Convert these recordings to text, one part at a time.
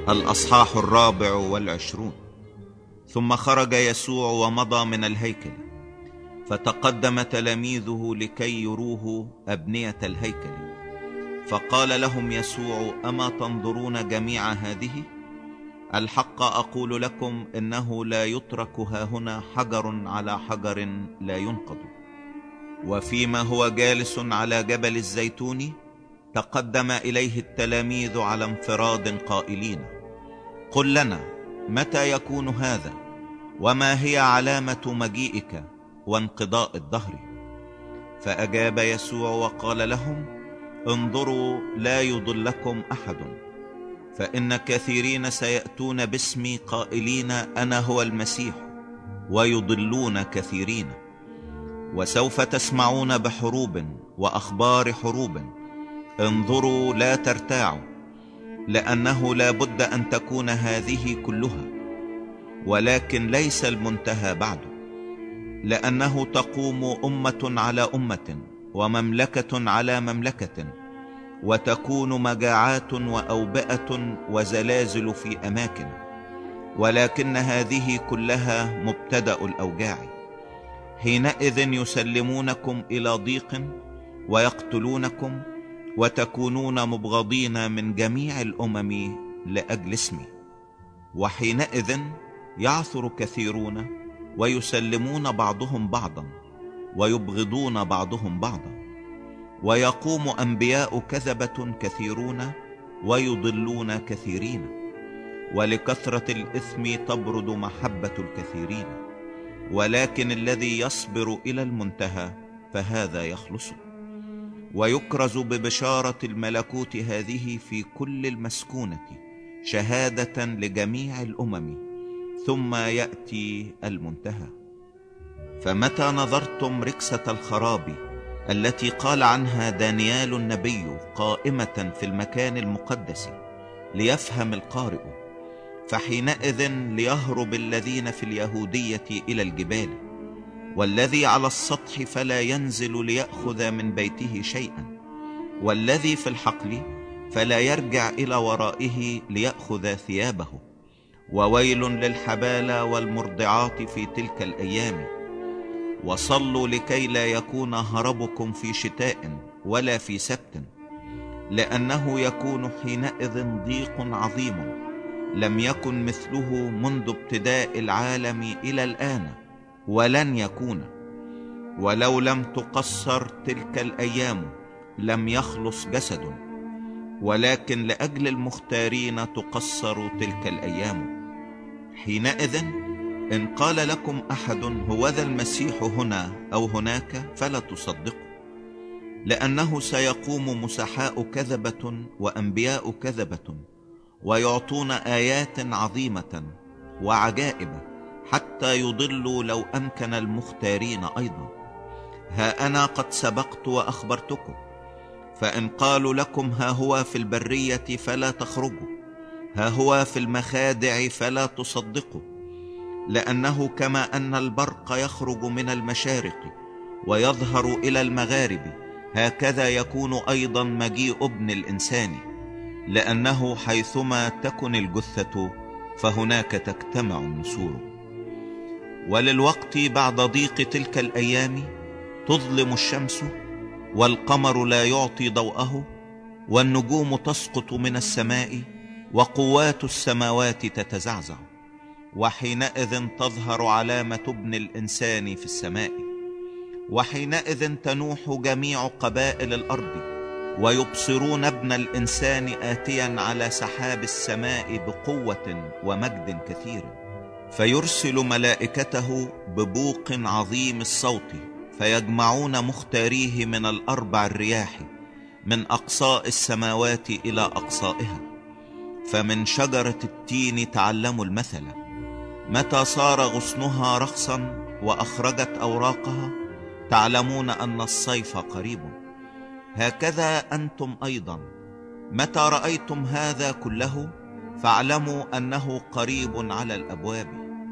الأصحاح 24. ثم خرج يسوع ومضى من الهيكل، فتقدم تلاميذه لكي يروه أبنية الهيكل. فقال لهم يسوع: أما تنظرون جميع هذه؟ الحق أقول لكم إنه لا يترك هاهنا حجر على حجر لا ينقض. وفيما هو جالس على جبل الزيتون، تقدم إليه التلاميذ على انفراد قائلين: قل لنا متى يكون هذا، وما هي علامة مجيئك وانقضاء الدهر؟ فأجاب يسوع وقال لهم: انظروا لا يضلكم أحد، فإن كثيرين سيأتون باسمي قائلين أنا هو المسيح، ويضلون كثيرين. وسوف تسمعون بحروب وأخبار حروب، انظروا لا ترتاعوا، لأنه لا بد أن تكون هذه كلها، ولكن ليس المنتهى بعد. لأنه تقوم أمة على أمة ومملكة على مملكة، وتكون مجاعات وأوبئة وزلازل في أماكن، ولكن هذه كلها مبتدأ الأوجاع. حينئذ يسلمونكم إلى ضيق ويقتلونكم، وتكونون مبغضين من جميع الأمم لأجل اسمي. وحينئذ يعثر كثيرون ويسلمون بعضهم بعضا، ويبغضون بعضهم بعضا. ويقوم أنبياء كذبة كثيرون ويضلون كثيرين، ولكثرة الإثم تبرد محبة الكثيرين. ولكن الذي يصبر إلى المنتهى فهذا يخلص. ويكرز ببشارة الملكوت هذه في كل المسكونة شهادة لجميع الأمم، ثم يأتي المنتهى. فمتى نظرتم ركسة الخراب التي قال عنها دانيال النبي قائمة في المكان المقدس، ليفهم القارئ، فحينئذ ليهرب الذين في اليهودية إلى الجبال، والذي على السطح فلا ينزل ليأخذ من بيته شيئا، والذي في الحقل فلا يرجع إلى ورائه ليأخذ ثيابه. وويل للحبالة والمرضعات في تلك الأيام. وصلوا لكي لا يكون هربكم في شتاء ولا في سبت، لأنه يكون حينئذ ضيق عظيم لم يكن مثله منذ ابتداء العالم إلى الآن، ولن يكون. ولو لم تقصر تلك الأيام لم يخلص جسد، ولكن لأجل المختارين تقصر تلك الأيام. حينئذ إن قال لكم أحد هوذا المسيح هنا أو هناك فلا تصدقوا، لأنه سيقوم مسحاء كذبة وأنبياء كذبة، ويعطون آيات عظيمة وعجائب حتى يضلوا لو أمكن المختارين أيضا. ها أنا قد سبقت وأخبرتكم. فإن قالوا لكم ها هو في البرية فلا تخرجوا، ها هو في المخادع فلا تصدقوا، لأنه كما أن البرق يخرج من المشارق ويظهر إلى المغارب، هكذا يكون أيضا مجيء ابن الإنسان. لأنه حيثما تكن الجثة فهناك تجتمع النسور. وللوقت بعد ضيق تلك الأيام تظلم الشمس، والقمر لا يعطي ضوءه، والنجوم تسقط من السماء، وقوات السماوات تتزعزع. وحينئذ تظهر علامة ابن الإنسان في السماء. وحينئذ تنوح جميع قبائل الأرض، ويبصرون ابن الإنسان آتيا على سحاب السماء بقوة ومجد كثير، فيرسل ملائكته ببوق عظيم الصوت، فيجمعون مختاريه من الأربع الرياح، من أقصاء السماوات إلى أقصائها. فمن شجرة التين تعلموا المثل، متى صار غصنها رخصا وأخرجت أوراقها تعلمون أن الصيف قريب. هكذا أنتم أيضا متى رأيتم هذا كله فاعلموا أنه قريب على الأبواب.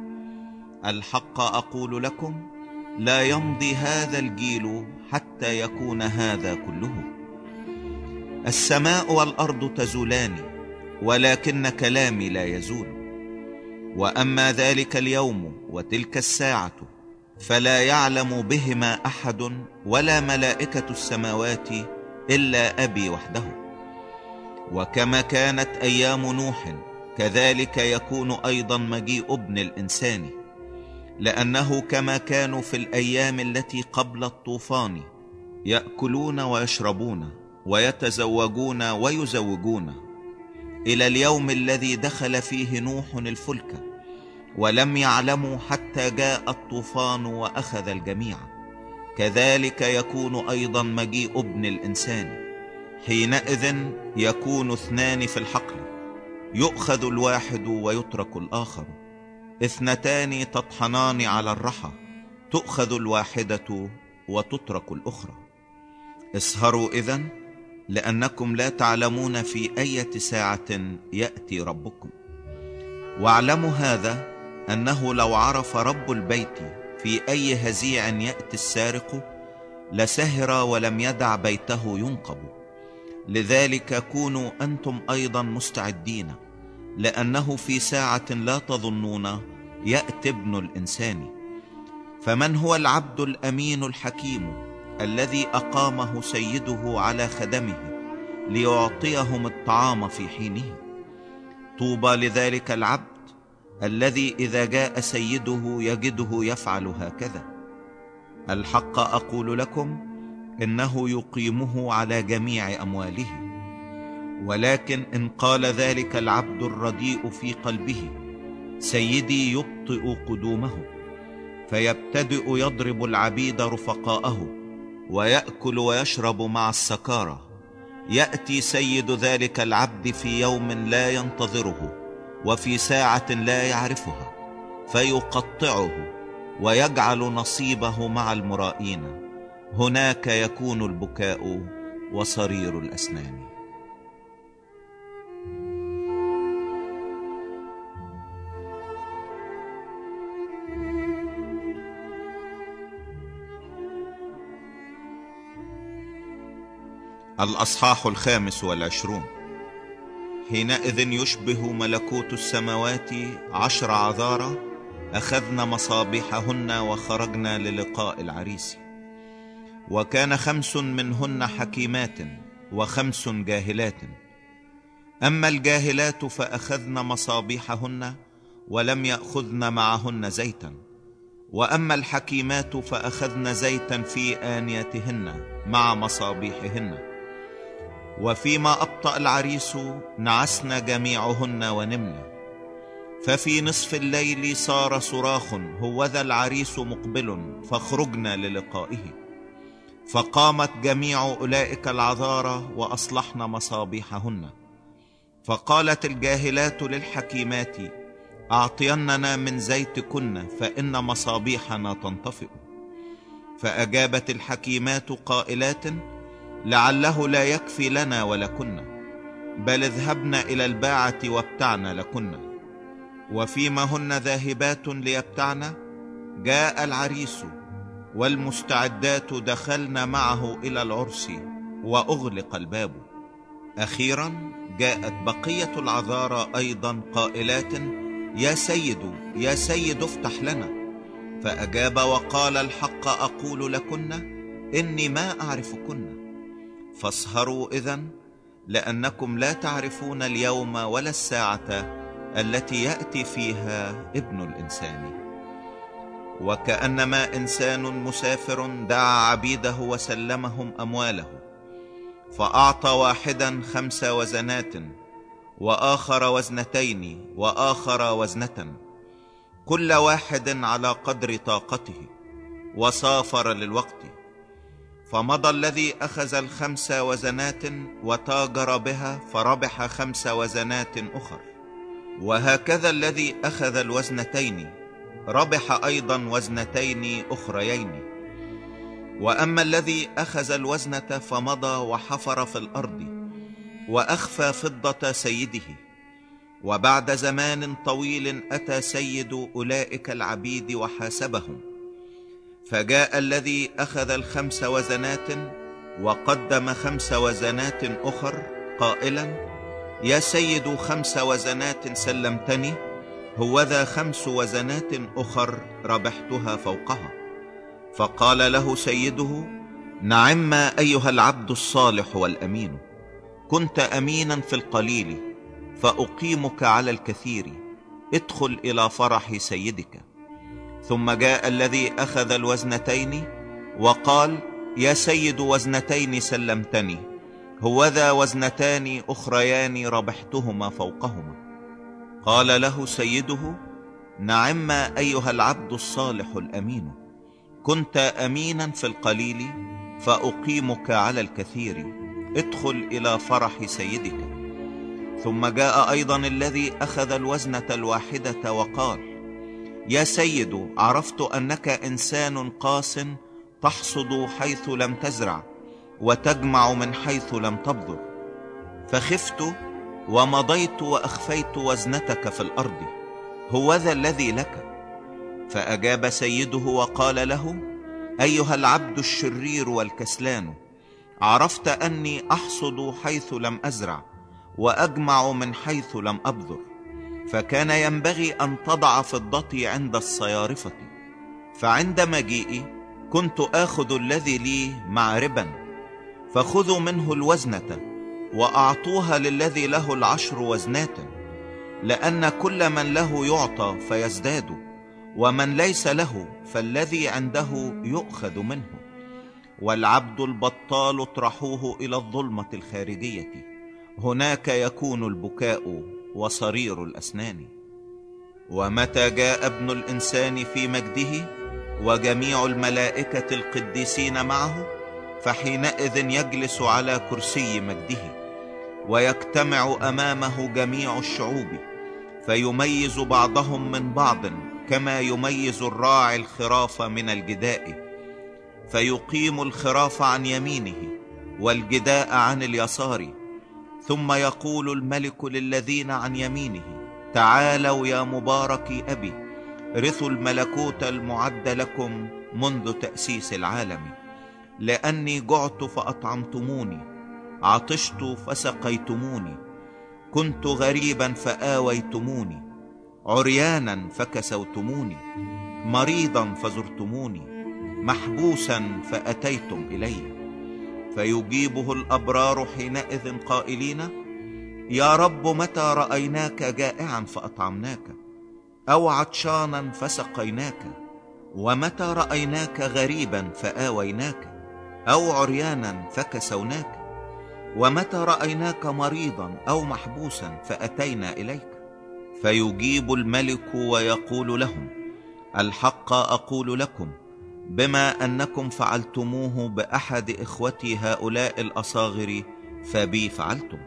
الحق أقول لكم، لا يمضي هذا الجيل حتى يكون هذا كله. السماء والأرض تزولان، ولكن كلامي لا يزول. وأما ذلك اليوم وتلك الساعة فلا يعلم بهما أحد ولا ملائكة السماوات إلا أبي وحده. وكما كانت أيام نوح كذلك يكون أيضا مجيء ابن الإنسان. لأنه كما كانوا في الأيام التي قبل الطوفان يأكلون ويشربون ويتزوجون ويزوجون، إلى اليوم الذي دخل فيه نوح الفلك ولم يعلموا حتى جاء الطوفان وأخذ الجميع، كذلك يكون أيضا مجيء ابن الإنسان. حينئذ يكون اثنان في الحقل، يؤخذ الواحد ويترك الآخر، اثنتان تطحنان على الرحى، تؤخذ الواحدة وتترك الأخرى. اسهروا إذن، لأنكم لا تعلمون في أي ساعة يأتي ربكم. واعلموا هذا، أنه لو عرف رب البيت في أي هزيع يأتي السارق لسهر ولم يدع بيته ينقب. لذلك كونوا أنتم أيضا مستعدين، لأنه في ساعة لا تظنون يأتي ابن الإنسان. فمن هو العبد الأمين الحكيم الذي أقامه سيده على خدمه ليعطيهم الطعام في حينه؟ طوبى لذلك العبد الذي إذا جاء سيده يجده يفعل هكذا. الحق أقول لكم إنه يقيمه على جميع أمواله. ولكن إن قال ذلك العبد الرديء في قلبه سيدي يبطئ قدومه، فيبتدئ يضرب العبيد رفقاءه ويأكل ويشرب مع السكارى، يأتي سيد ذلك العبد في يوم لا ينتظره وفي ساعة لا يعرفها، فيقطعه ويجعل نصيبه مع المرائين. هناك يكون البكاء وصرير الأسنان. الأصحاح 25. حينئذ يشبه ملكوت السماوات 10 عذارى أخذن مصابيحهن وخرجن للقاء العريس. وكان 5 منهن حكيمات و5 جاهلات. أما الجاهلات فأخذن مصابيحهن ولم يأخذن معهن زيتا، وأما الحكيمات فأخذن زيتا في آنيتهن مع مصابيحهن. وفيما أبطأ العريس نعسن جميعهن ونمن. ففي نصف الليل صار صراخ هوذا العريس مقبل فاخرجنا للقائه. فقامت جميع أولئك العذارى وأصلحن مصابيحهن. فقالت الجاهلات للحكيمات أعطيننا من زيتكن فإن مصابيحنا تنطفئ. فأجابت الحكيمات قائلات لعله لا يكفي لنا ولكن، بل اذهبن إلى الباعة وابتعن لكن. وفيما هن ذاهبات ليبتعن جاء العريس، والمستعدات دخلن معه إلى العرس وأغلق الباب. أخيرا جاءت بقية العذارى أيضا قائلات يا سيد يا سيد افتح لنا. فأجاب وقال الحق أقول لكن إني ما أعرفكن. فاسهروا إذن، لأنكم لا تعرفون اليوم ولا الساعة التي يأتي فيها ابن الإنسان. وكأنما إنسان مسافر دعا عبيده وسلمهم أمواله، فأعطى واحدا 5 وزنات وآخر 2 وآخر 1، كل واحد على قدر طاقته، وسافر للوقت. فمضى الذي أخذ 5 وزنات وتاجر بها فربح 5 وزنات أخر. وهكذا الذي أخذ 2 ربح أيضا 2 أخريين. وأما الذي أخذ 1 فمضى وحفر في الأرض وأخفى فضة سيده. وبعد زمان طويل أتى سيد أولئك العبيد وحاسبهم. فجاء الذي أخذ 5 وزنات وقدم 5 وزنات أخر قائلا يا سيد 5 وزنات سلمتني، هوذا 5 وزنات أخر ربحتها فوقها. فقال له سيده: نعم أيها العبد الصالح والأمين، كنت أمينا في القليل فأقيمك على الكثير، ادخل إلى فرح سيدك. ثم جاء الذي أخذ الوزنتين وقال: يا سيد 2 سلمتني، هوذا 2 أخريان ربحتهما فوقهما. قال له سيده: نعم أيها العبد الصالح الأمين، كنت أمينا في القليل فأقيمك على الكثير، ادخل إلى فرح سيدك. ثم جاء أيضا الذي أخذ الوزنة الواحدة وقال: يا سيد، عرفت أنك إنسان قاس، تحصد حيث لم تزرع وتجمع من حيث لم تبذر، فخفت ومضيت وأخفيت وزنتك في الأرض، هوذا الذي لك. فأجاب سيده وقال له: أيها العبد الشرير والكسلان، عرفت أني أحصد حيث لم أزرع وأجمع من حيث لم أبذر، فكان ينبغي أن تضع فضتي عند الصيارفة، فعند مجيئي كنت آخذ الذي لي مع ربا، فخذوا منه الوزنة وأعطوها للذي له 10 وزنات، لأن كل من له يعطى فيزداد، ومن ليس له فالذي عنده يؤخذ منه. والعبد البطال اطرحوه إلى الظلمة الخارجية، هناك يكون البكاء وصرير الأسنان. ومتى جاء ابن الإنسان في مجده وجميع الملائكة القديسين معه، فحينئذ يجلس على كرسي مجده، ويجتمع أمامه جميع الشعوب، فيميز بعضهم من بعض كما يميز الراعي الخراف من الجداء، فيقيم الخراف عن يمينه والجداء عن اليسار. ثم يقول الملك للذين عن يمينه: تعالوا يا مباركي أبي، رثوا الملكوت المعد لكم منذ تأسيس العالم، لأني جعت فأطعمتموني، عطشت فسقيتموني، كنت غريبا فآويتموني، عريانا فكسوتموني، مريضا فزرتموني، محبوسا فأتيتم إلي. فيجيبه الأبرار حينئذ قائلين: يا رب، متى رأيناك جائعا فأطعمناك، أو عطشانا فسقيناك؟ ومتى رأيناك غريبا فآويناك، أو عريانا فكسوناك؟ ومتى رأيناك مريضا أو محبوسا فأتينا إليك؟ فيجيب الملك ويقول لهم: الحق أقول لكم، بما أنكم فعلتموه بأحد إخوتي هؤلاء الأصاغر فبي فعلتم.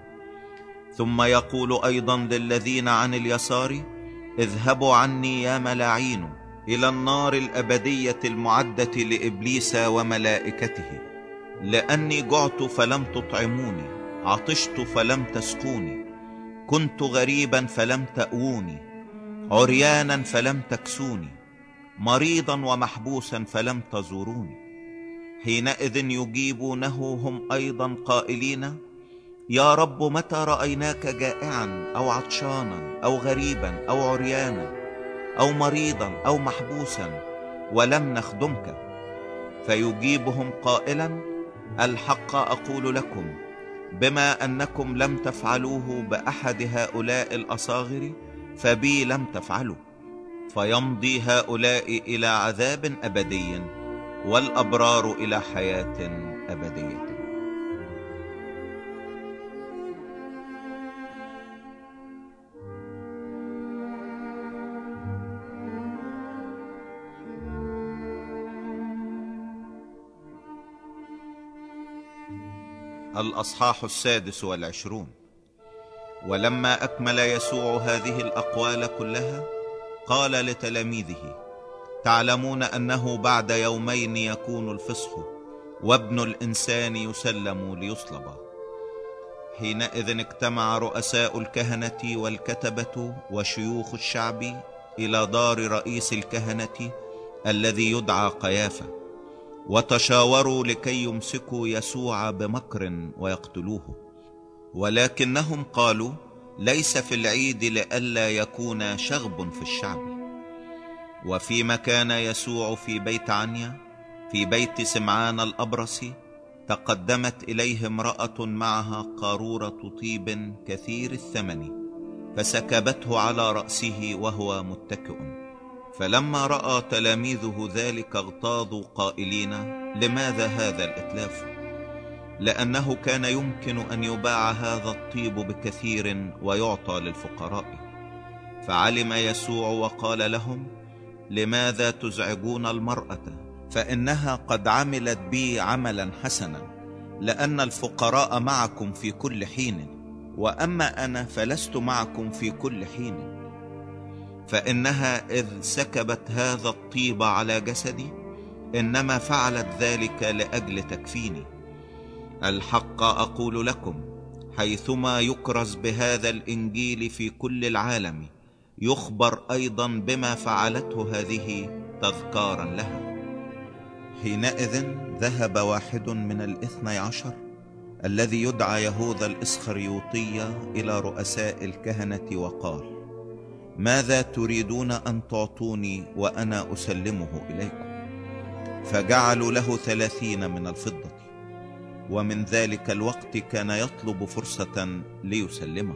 ثم يقول أيضا للذين عن اليسار: اذهبوا عني يا ملاعين إلى النار الأبدية المعدة لإبليس وملائكته، لأني جعت فلم تطعموني، عطشت فلم تسقوني، كنت غريبا فلم تأووني، عريانا فلم تكسوني، مريضا ومحبوسا فلم تزوروني. حينئذ يجيبونه هم أيضا قائلين: يا رب، متى رأيناك جائعا أو عطشانا أو غريبا أو عريانا أو مريضا أو محبوسا ولم نخدمك؟ فيجيبهم قائلا: الحق أقول لكم، بما أنكم لم تفعلوه بأحد هؤلاء الأصاغر فبي لم تفعلوا. فيمضي هؤلاء إلى عذاب أبدي، والأبرار إلى حياة أبدية. الأصحاح 26. ولما أكمل يسوع هذه الأقوال كلها قال لتلاميذه: تعلمون أنه بعد يومين يكون الفصح، وابن الإنسان يسلم ليصلب. حينئذ اجتمع رؤساء الكهنة والكتبة وشيوخ الشعب إلى دار رئيس الكهنة الذي يدعى قيافة، وتشاوروا لكي يمسكوا يسوع بمكر ويقتلوه. ولكنهم قالوا: ليس في العيد لئلا يكون شغب في الشعب. وفيما كان يسوع في بيت عنيا في بيت سمعان الأبرصي، تقدمت إليه امرأة معها قارورة طيب كثير الثمن، فسكبته على رأسه وهو متكئ. فلما رأى تلاميذه ذلك اغتاظوا قائلين: لماذا هذا الإتلاف؟ لأنه كان يمكن أن يباع هذا الطيب بكثير ويعطى للفقراء. فعلم يسوع وقال لهم: لماذا تزعجون المرأة؟ فإنها قد عملت بي عملا حسنا، لأن الفقراء معكم في كل حين، وأما أنا فلست معكم في كل حين. فإنها إذ سكبت هذا الطيب على جسدي إنما فعلت ذلك لأجل تكفيني. الحق أقول لكم، حيثما يكرز بهذا الإنجيل في كل العالم، يخبر أيضا بما فعلته هذه تذكارا لها. حينئذ ذهب واحد من 12 الذي يدعى يهوذا الإسخريوطي إلى رؤساء الكهنة وقال: ماذا تريدون أن تعطوني وأنا أسلمه إليكم؟ فجعلوا له 30 من الفضة. ومن ذلك الوقت كان يطلب فرصة ليسلمه.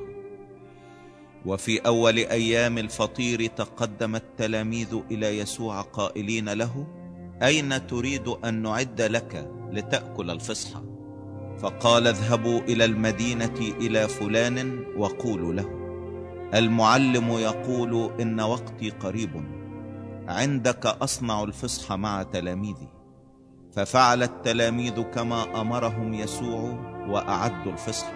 وفي أول أيام الفطير تقدم التلاميذ إلى يسوع قائلين له: أين تريد أن نعد لك لتأكل الفصح؟ فقال: اذهبوا إلى المدينة إلى فلان وقولوا له: المعلم يقول إن وقتي قريب، عندك أصنع الفصح مع تلاميذي. ففعل التلاميذ كما أمرهم يسوع وأعدوا الفصح.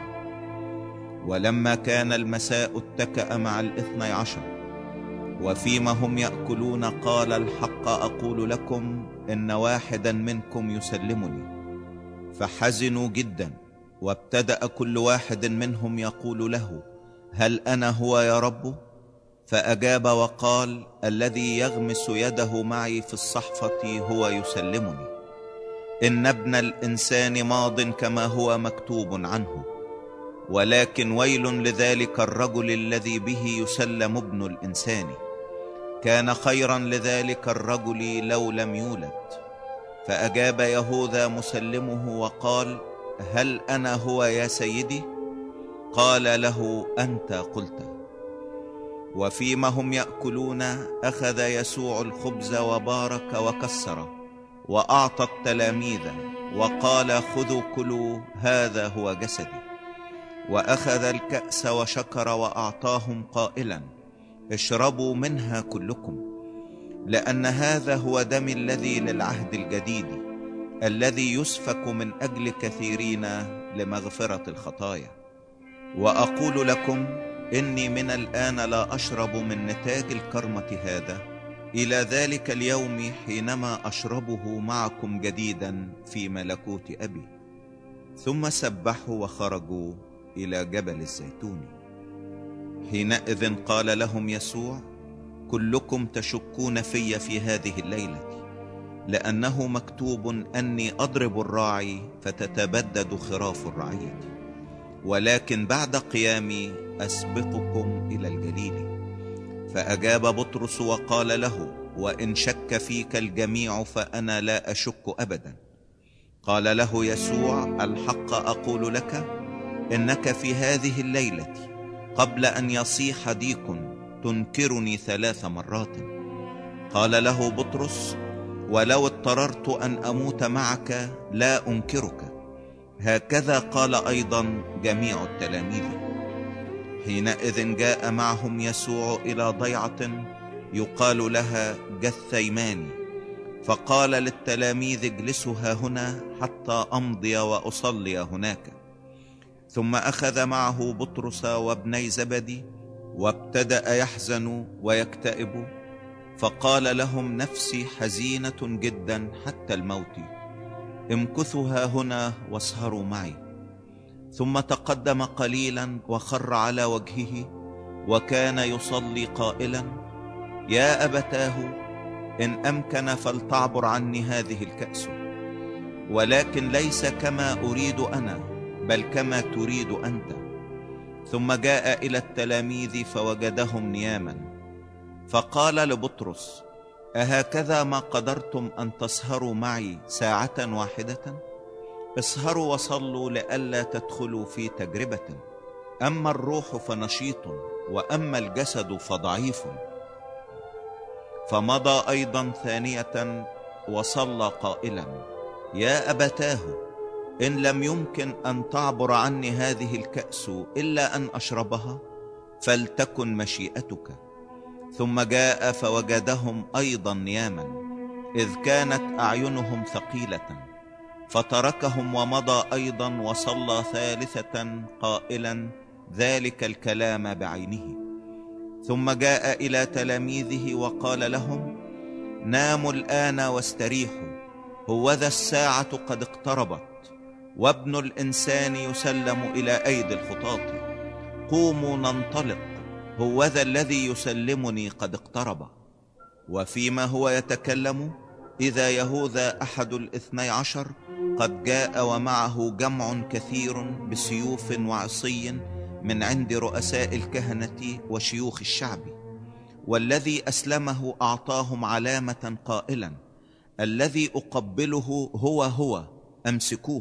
ولما كان المساء اتكأ مع 12، وفيما هم يأكلون قال: الحق أقول لكم إن واحدا منكم يسلمني. فحزنوا جدا، وابتدأ كل واحد منهم يقول له: هل أنا هو يا رب؟ فأجاب وقال: الذي يغمس يده معي في الصحفة هو يسلمني. إن ابن الإنسان ماض كما هو مكتوب عنه، ولكن ويل لذلك الرجل الذي به يسلم ابن الإنسان. كان خيرا لذلك الرجل لو لم يولد. فأجاب يهوذا مسلمه وقال: هل أنا هو يا سيدي؟ قال له: أنت قلت. وفيما هم يأكلون أخذ يسوع الخبز وبارك وكسر وأعطى التلاميذ وقال: خذوا كلوا، هذا هو جسدي. وأخذ الكأس وشكر وأعطاهم قائلا: اشربوا منها كلكم، لأن هذا هو دمي الذي للعهد الجديد، الذي يسفك من أجل كثيرين لمغفرة الخطايا. وأقول لكم إني من الآن لا أشرب من نتاج الكرمة هذا إلى ذلك اليوم حينما أشربه معكم جديدا في ملكوت أبي. ثم سبحوا وخرجوا إلى جبل الزيتون. حينئذ قال لهم يسوع: كلكم تشكون في هذه الليلة، لأنه مكتوب أني أضرب الراعي فتتبدد خراف الرعية. ولكن بعد قيامي أسبقكم إلى الجليل. فأجاب بطرس وقال له: وإن شك فيك الجميع فأنا لا أشك أبدا. قال له يسوع: الحق أقول لك إنك في هذه الليلة قبل أن يصيح ديك تنكرني 3 مرات. قال له بطرس: ولو اضطررت أن أموت معك لا أنكرك. هكذا قال أيضا جميع التلاميذ. حينئذ جاء معهم يسوع إلى ضيعة يقال لها جثيماني، فقال للتلاميذ: اجلسوا هنا حتى أمضي وأصلي هناك. ثم أخذ معه بطرس وابني زبدي وابتدأ يحزن ويكتئب، فقال لهم: نفسي حزينة جدا حتى الموت، امكثوا هنا واسهروا معي. ثم تقدم قليلا وخر على وجهه وكان يصلي قائلا: يا أبتاه، إن أمكن فلتعبر عني هذه الكأس، ولكن ليس كما أريد أنا بل كما تريد أنت. ثم جاء إلى التلاميذ فوجدهم نياما، فقال لبطرس: أهكذا ما قدرتم أن تسهروا معي ساعة واحدة؟ اسهروا وصلوا لئلا تدخلوا في تجربة. أما الروح فنشيط، وأما الجسد فضعيف. فمضى أيضا ثانية وصلى قائلا: يا أبتاه، إن لم يمكن أن تعبر عني هذه الكأس إلا أن أشربها، فلتكن مشيئتك. ثم جاء فوجدهم أيضا نياما، إذ كانت أعينهم ثقيلة، فتركهم ومضى أيضا وصلى ثالثة قائلا ذلك الكلام بعينه. ثم جاء إلى تلاميذه وقال لهم: ناموا الآن واستريحوا، هوذا الساعة قد اقتربت، وابن الإنسان يسلم إلى أيدي الخطاة. قوموا ننطلق، هوذا الذي يسلمني قد اقترب. وفيما هو يتكلم إذا يهوذا أحد الاثني عشر قد جاء، ومعه جمع كثير بسيوف وعصي من عند رؤساء الكهنة وشيوخ الشعب. والذي أسلمه أعطاهم علامة قائلا: الذي أقبله هو، أمسكوه.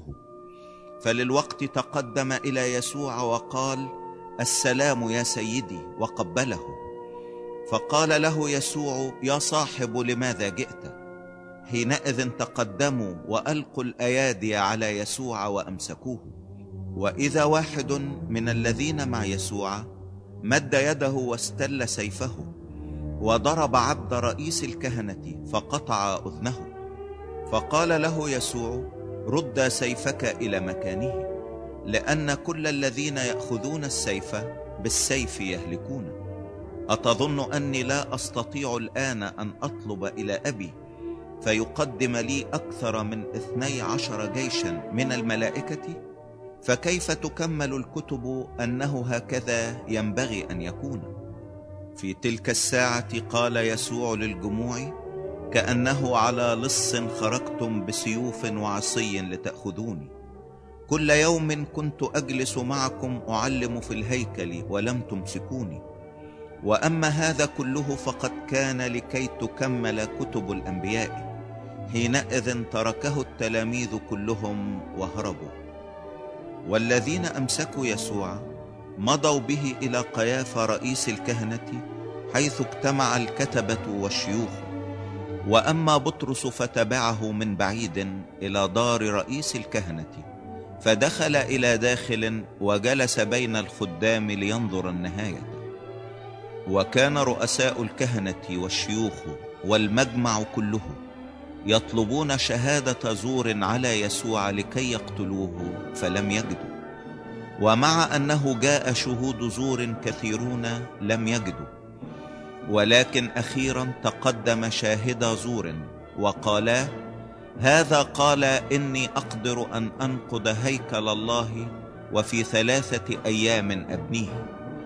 فللوقت تقدم إلى يسوع وقال: السلام يا سيدي، وقبله. فقال له يسوع: يا صاحب لماذا جئت؟ حينئذ تقدموا وألقوا الأيادي على يسوع وأمسكوه. وإذا واحد من الذين مع يسوع مد يده واستل سيفه، وضرب عبد رئيس الكهنة فقطع أذنه. فقال له يسوع: رد سيفك إلى مكانه، لأن كل الذين يأخذون السيف بالسيف يهلكون. أتظن أني لا أستطيع الآن أن أطلب إلى أبي فيقدم لي أكثر من 12 جيشا من الملائكة؟ فكيف تكمل الكتب أنه هكذا ينبغي أن يكون؟ في تلك الساعة قال يسوع للجموع: كأنه على لص خرجتم بسيوف وعصي لتأخذوني. كل يوم كنت أجلس معكم أعلم في الهيكل ولم تمسكوني، وأما هذا كله فقد كان لكي تكمل كتب الأنبياء. حينئذ تركه التلاميذ كلهم وهربوا. والذين أمسكوا يسوع مضوا به إلى قيافة رئيس الكهنة، حيث اجتمع الكتبة والشيوخ. وأما بطرس فتبعه من بعيد إلى دار رئيس الكهنة، فدخل إلى داخل وجلس بين الخدام لينظر النهاية. وكان رؤساء الكهنة والشيوخ والمجمع كله يطلبون شهادة زور على يسوع لكي يقتلوه، فلم يجدوا. ومع أنه جاء شهود زور كثيرون لم يجدوا. ولكن أخيرا تقدم شاهدا زور وقالا: هذا قال إني أقدر أن أنقض هيكل الله وفي 3 أيام أبنيه.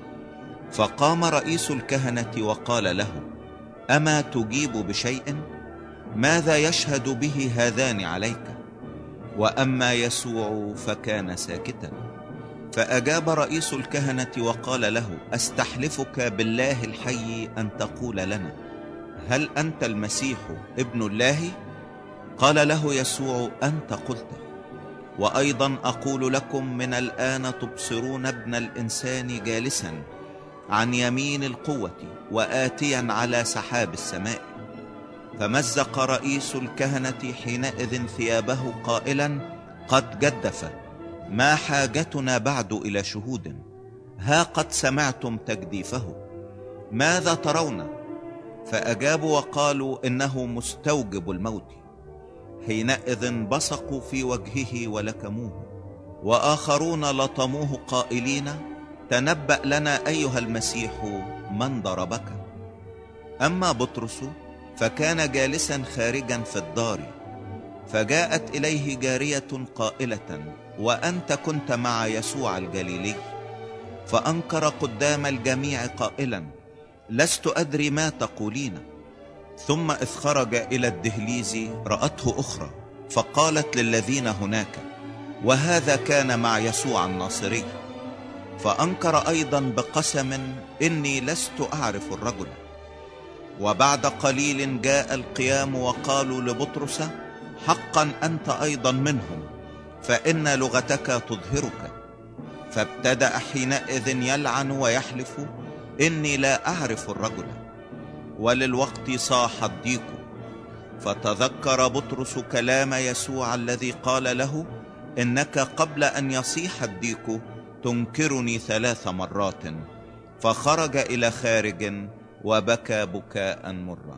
فقام رئيس الكهنة وقال له: أما تجيب بشيء؟ ماذا يشهد به هذان عليك؟ وأما يسوع فكان ساكتا. فأجاب رئيس الكهنة وقال له: أستحلفك بالله الحي أن تقول لنا، هل أنت المسيح ابن الله؟ قال له يسوع: أنت قلت. وأيضا أقول لكم من الآن تبصرون ابن الإنسان جالسا عن يمين القوة وآتيا على سحاب السماء. فمزق رئيس الكهنة حينئذ ثيابه قائلا: قد جدف، ما حاجتنا بعد إلى شهود؟ ها قد سمعتم تجديفه، ماذا ترون؟ فأجابوا وقالوا: إنه مستوجب الموت. حينئذ بصقوا في وجهه ولكموه. وآخرون لطموه قائلين: تنبأ لنا أيها المسيح من ضربك؟ أما بطرس فكان جالسا خارجا في الدار، فجاءت إليه جارية قائلة: وأنت كنت مع يسوع الجليلي؟ فأنكر قدام الجميع قائلا: لست أدري ما تقولين. ثم إذ خرج إلى الدهليز رأته أخرى، فقالت للذين هناك: وهذا كان مع يسوع الناصري. فأنكر أيضا بقسم: إني لست أعرف الرجل. وبعد قليل جاء القيام وقالوا لبطرس: حقا أنت أيضا منهم، فإن لغتك تظهرك. فابتدأ حينئذ يلعن ويحلف: إني لا أعرف الرجل. وللوقت صاح الضيق، فتذكر بطرس كلام يسوع الذي قال له: إنك قبل أن يصيح الضيق تنكرني 3 مرات. فخرج إلى خارج وبكى بكاء مرا.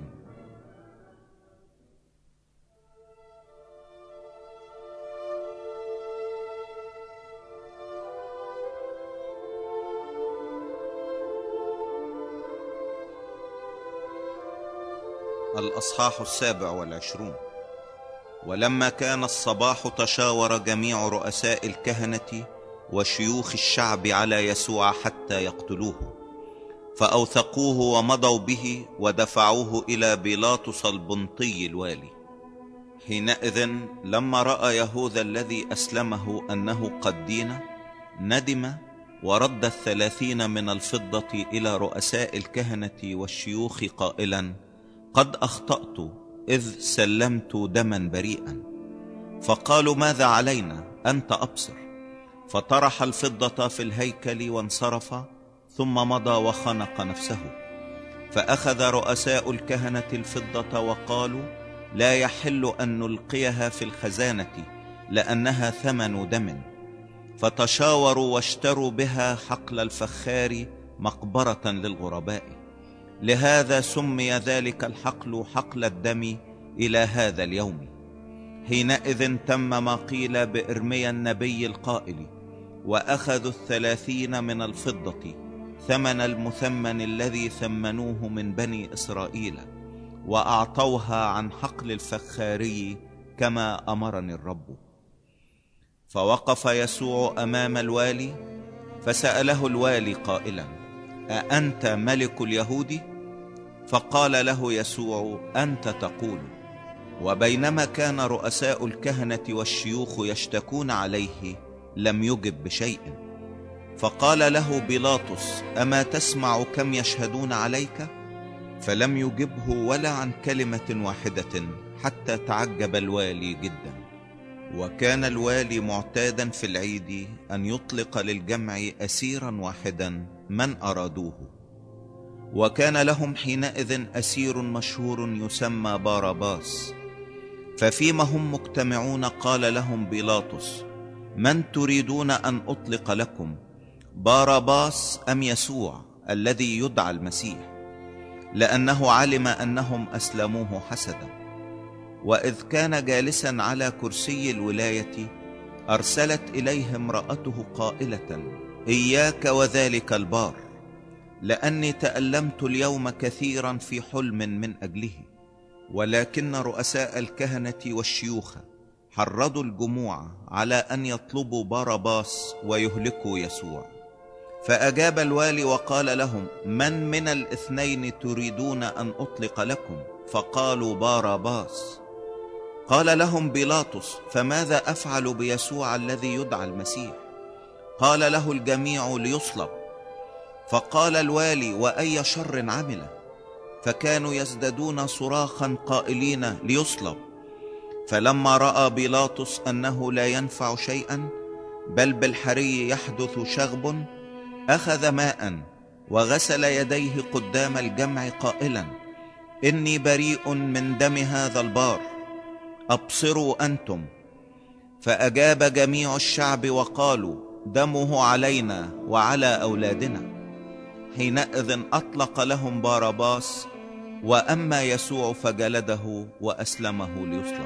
الأصحاح 27. ولما كان الصباح تشاور جميع رؤساء الكهنة وشيوخ الشعب على يسوع حتى يقتلوه، فأوثقوه ومضوا به ودفعوه إلى بيلاطس البنطي الوالي. حينئذ لما رأى يهوذا الذي أسلمه أنه قد دين، ندم ورد 30 من الفضة إلى رؤساء الكهنة والشيوخ قائلا: قد أخطأت إذ سلمت دما بريئا. فقالوا: ماذا علينا؟ أنت أبصر. فطرح الفضة في الهيكل وانصرف، ثم مضى وخنق نفسه. فأخذ رؤساء الكهنة الفضة وقالوا: لا يحل أن نلقيها في الخزانة، لأنها ثمن دم. فتشاوروا واشتروا بها حقل الفخار مقبرة للغرباء. لهذا سمي ذلك الحقل حقل الدم إلى هذا اليوم. حينئذ تم ما قيل بإرميا النبي القائل: وأخذوا 30 من الفضة، ثمن المثمن الذي ثمنوه من بني إسرائيل، وأعطوها عن حقل الفخاري كما أمرني الرب. فوقف يسوع أمام الوالي، فسأله الوالي قائلا: أأنت ملك اليهود؟ فقال له يسوع: أنت تقول. وبينما كان رؤساء الكهنة والشيوخ يشتكون عليه، لم يجب بشيء. فقال له بيلاطس: أما تسمع كم يشهدون عليك؟ فلم يجبه ولا عن كلمة واحدة، حتى تعجب الوالي جدا. وكان الوالي معتادا في العيد أن يطلق للجمع أسيرا واحدا من أرادوه. وكان لهم حينئذ أسير مشهور يسمى باراباس. ففيما هم مجتمعون قال لهم بيلاطس: من تريدون أن أطلق لكم، باراباس أم يسوع الذي يدعى المسيح؟ لأنه علم أنهم أسلموه حسدا. وإذ كان جالسا على كرسي الولاية، أرسلت إليه امرأته قائلة: إياك وذلك البار، لأني تألمت اليوم كثيرا في حلم من أجله. ولكن رؤساء الكهنة والشيوخ حرضوا الجموع على أن يطلبوا باراباس ويهلكوا يسوع. فأجاب الوالي وقال لهم: من الاثنين تريدون أن أطلق لكم؟ فقالوا: باراباس. قال لهم بيلاطس: فماذا أفعل بيسوع الذي يدعى المسيح؟ قال له الجميع: ليصلب. فقال الوالي: وأي شر عمل؟ فكانوا يزدادون صراخا قائلين: ليصلب. فلما رأى بيلاطس أنه لا ينفع شيئا، بل بالحري يحدث شغب، أخذ ماء وغسل يديه قدام الجمع قائلا: إني بريء من دم هذا البار، أبصروا أنتم. فأجاب جميع الشعب وقالوا: دمه علينا وعلى أولادنا. حينئذ أطلق لهم باراباس، وأما يسوع فجلده وأسلمه ليصلب.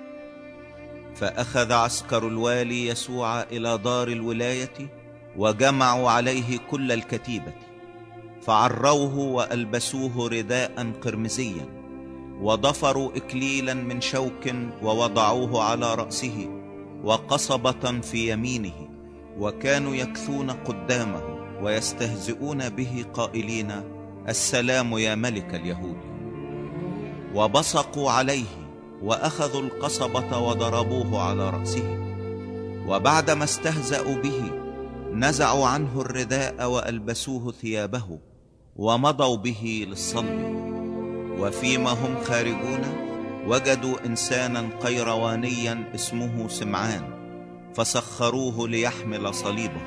فأخذ عسكر الوالي يسوع إلى دار الولاية، وجمعوا عليه كل الكتيبة، فعروه وألبسوه رداء قرمزيا، وضفروا إكليلا من شوك ووضعوه على رأسه، وقصبة في يمينه، وكانوا يكثون قدامه ويستهزئون به قائلين: السلام يا ملك اليهود. وبصقوا عليه وأخذوا القصبة وضربوه على رأسه. وبعدما استهزأوا به نزعوا عنه الرداء وألبسوه ثيابه ومضوا به للصلب. وفيما هم خارجون وجدوا إنسانا قيروانيا اسمه سمعان، فسخروه ليحمل صليبه.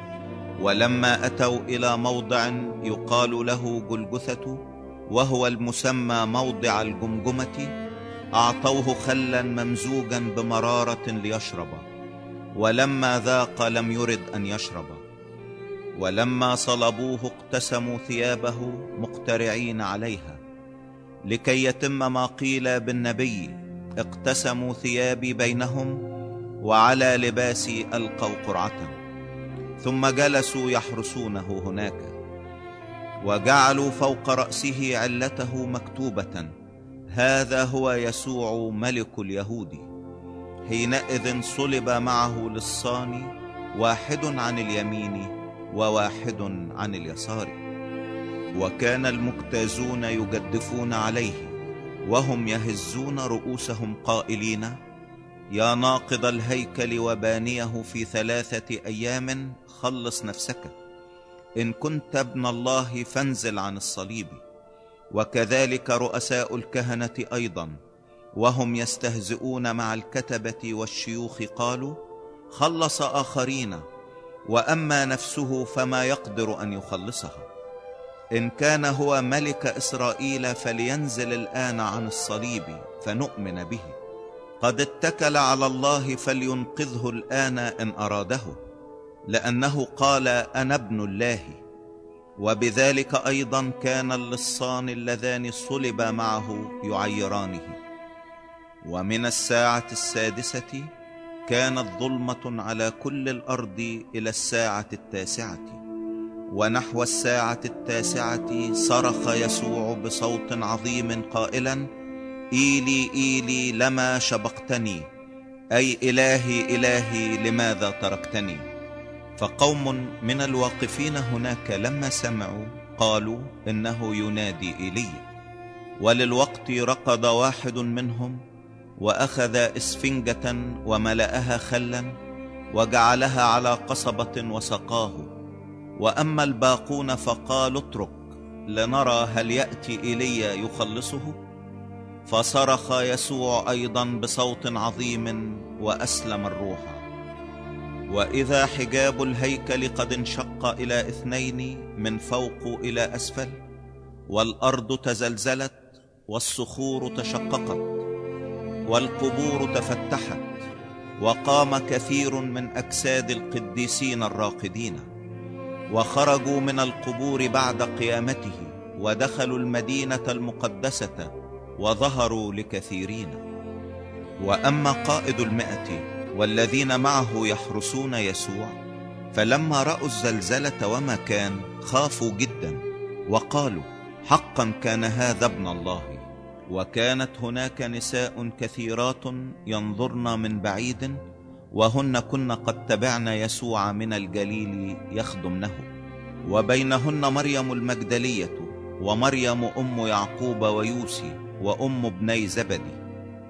ولما أتوا إلى موضع يقال له جلجثة، وهو المسمى موضع الجمجمة، أعطوه خلا ممزوجا بمرارة ليشرب، ولما ذاق لم يرد أن يشرب. ولما صلبوه اقتسموا ثيابه مقترعين عليها، لكي يتم ما قيل بالنبي: اقتسموا ثيابي بينهم وعلى لباسي ألقوا قرعة. ثم جلسوا يحرسونه هناك، وجعلوا فوق رأسه علته مكتوبة: هذا هو يسوع ملك اليهود. حينئذ صلب معه للصاني، واحد عن اليمين وواحد عن اليسار. وكان المجتازون يجدفون عليه وهم يهزون رؤوسهم قائلين: يا ناقض الهيكل وبانيه في 3 أيام خلص نفسك، إن كنت ابن الله فانزل عن الصليب. وكذلك رؤساء الكهنة أيضا وهم يستهزئون مع الكتبة والشيوخ قالوا: خلص آخرين، وأما نفسه فما يقدر أن يخلصها. إن كان هو ملك إسرائيل فلينزل الآن عن الصليب فنؤمن به. قد اتكل على الله فلينقذه الآن إن أراده، لأنه قال: أنا ابن الله. وبذلك أيضا كان اللصان اللذان صلب معه يعيرانه. ومن 6 كانت ظلمة على كل الأرض إلى 9. ونحو 9 صرخ يسوع بصوت عظيم قائلا: إيلي إيلي لما شبقتني، أي إلهي إلهي لماذا تركتني. فقوم من الواقفين هناك لما سمعوا قالوا: إنه ينادي إيليا. وللوقت ركض واحد منهم وأخذ إسفنجة وملأها خلا وجعلها على قصبة وسقاه. وأما الباقون فقالوا: اترك لنرى هل يأتي إيليا يخلصه. فصرخ يسوع أيضا بصوت عظيم وأسلم الروح. وإذا حجاب الهيكل قد انشق إلى 2 من فوق إلى أسفل، والأرض تزلزلت والصخور تشققت والقبور تفتحت، وقام كثير من أجساد القديسين الراقدين، وخرجوا من القبور بعد قيامته ودخلوا المدينة المقدسة وظهروا لكثيرين. وأما قائد 100 والذين معه يحرسون يسوع، فلما رأوا الزلزلة وما كان خافوا جدا وقالوا: حقا كان هذا ابن الله. وكانت هناك نساء كثيرات ينظرن من بعيد، وهن كن قد تبعن يسوع من الجليل يخدمنه، وبينهن مريم المجدلية ومريم أم يعقوب ويوسي وأم ابني زبدي.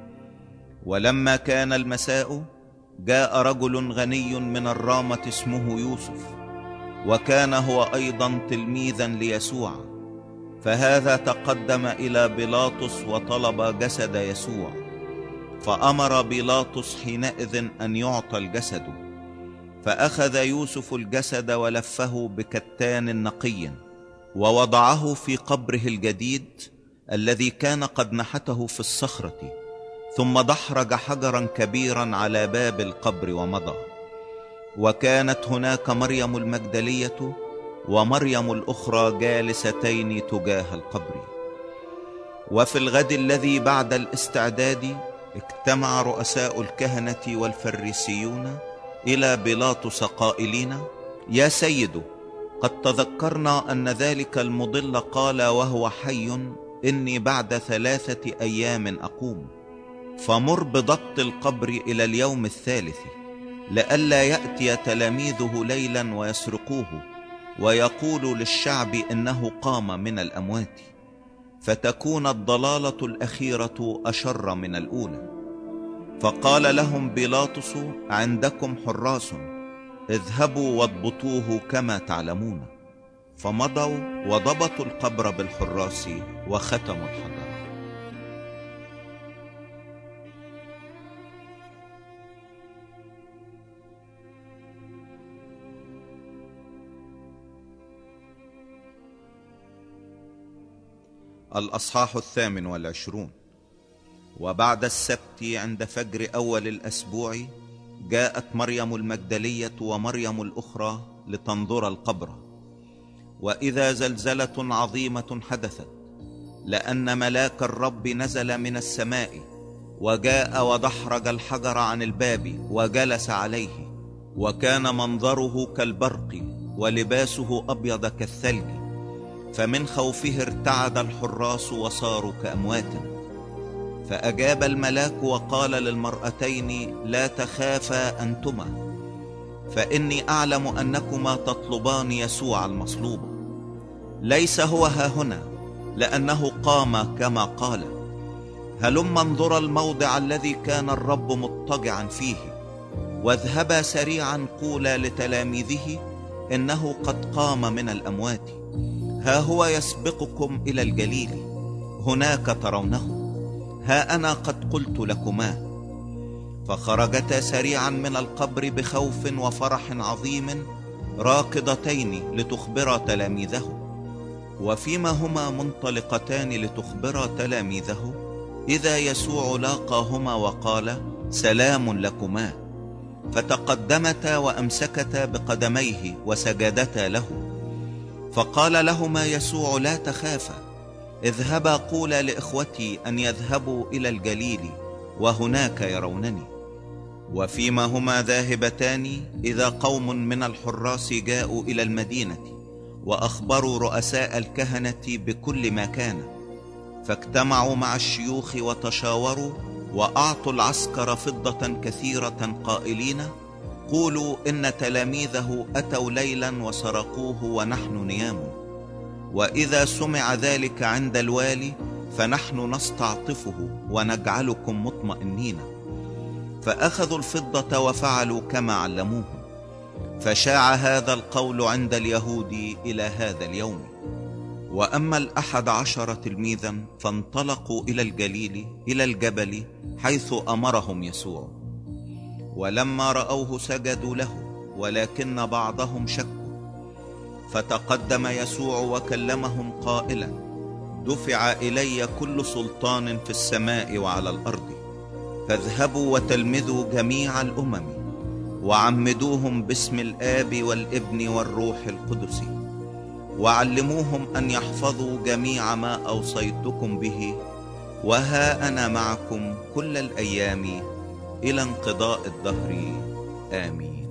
ولما كان المساء جاء رجل غني من الرامة اسمه يوسف، وكان هو أيضا تلميذا ليسوع، فهذا تقدم إلى بيلاطس وطلب جسد يسوع. فأمر بيلاطس حينئذ أن يعطى الجسد. فأخذ يوسف الجسد ولفه بكتان نقي ووضعه في قبره الجديد الذي كان قد نحته في الصخرة، ثم دحرج حجرا كبيرا على باب القبر ومضى. وكانت هناك مريم المجدلية ومريم الأخرى جالستين تجاه القبر. وفي الغد الذي بعد الاستعداد اجتمع رؤساء الكهنة والفريسيون إلى بيلاطس قائلين: يا سيد، قد تذكرنا أن ذلك المضل قال وهو حي: إني بعد 3 أيام أقوم. فمر بضبط القبر إلى اليوم 3، لئلا يأتي تلاميذه ليلا ويسرقوه ويقول للشعب إنه قام من الأموات، فتكون الضلالة الأخيرة أشر من الأولى. فقال لهم بيلاطس: عندكم حراس، اذهبوا واضبطوه كما تعلمون. فمضوا وضبطوا القبر بالحراس وختموا الحجر. الأصحاح 28. وبعد السبت عند فجر أول الأسبوع جاءت مريم المجدلية ومريم الأخرى لتنظر القبر، وإذا زلزلة عظيمة حدثت، لأن ملاك الرب نزل من السماء وجاء ودحرج الحجر عن الباب وجلس عليه، وكان منظره كالبرق ولباسه أبيض كالثلج، فمن خوفه ارتعد الحراس وصاروا كأموات. فأجاب الملاك وقال للمرأتين: لا تخافا أنتما، فإني أعلم أنكما تطلبان يسوع المصلوب. ليس هو هاهنا، لأنه قام كما قال. هلما انظرا الموضع الذي كان الرب مضطجعا فيه، واذهبا سريعا قولا لتلاميذه إنه قد قام من الأموات. ها هو يسبقكم إلى الجليل، هناك ترونه. ها أنا قد قلت لكما. فخرجتا سريعا من القبر بخوف وفرح عظيم، راكضتين لتخبرا تلاميذه. وفيما هما منطلقتان لتخبرا تلاميذه، إذا يسوع لاقاهما وقال: سلام لكما. فتقدمتا وأمسكتا بقدميه وسجدتا له. فقال لهما يسوع: لا تخافا، اذهبا قولا لإخوتي أن يذهبوا إلى الجليل، وهناك يرونني. وفيما هما ذاهبتان، إذا قوم من الحراس جاءوا إلى المدينة وأخبروا رؤساء الكهنة بكل ما كان، فاجتمعوا مع الشيوخ وتشاوروا، وأعطوا العسكر فضة كثيرة قائلين: قولوا إن تلاميذه أتوا ليلا وسرقوه ونحن نيام. وإذا سمع ذلك عند الوالي فنحن نستعطفه ونجعلكم مطمئنين. فأخذوا الفضة وفعلوا كما علموهم. فشاع هذا القول عند اليهود إلى هذا اليوم. وأما 11 تلميذا فانطلقوا إلى الجليل إلى الجبل حيث أمرهم يسوع. ولما رأوه سجدوا له، ولكن بعضهم شكوا. فتقدم يسوع وكلمهم قائلا: دفع إلي كل سلطان في السماء وعلى الأرض. فاذهبوا وتلمذوا جميع الأمم، وعمدوهم باسم الآب والابن والروح القدس، وعلموهم أن يحفظوا جميع ما أوصيتكم به، وها أنا معكم كل الأيام إلى انقضاء الدهر. آمين.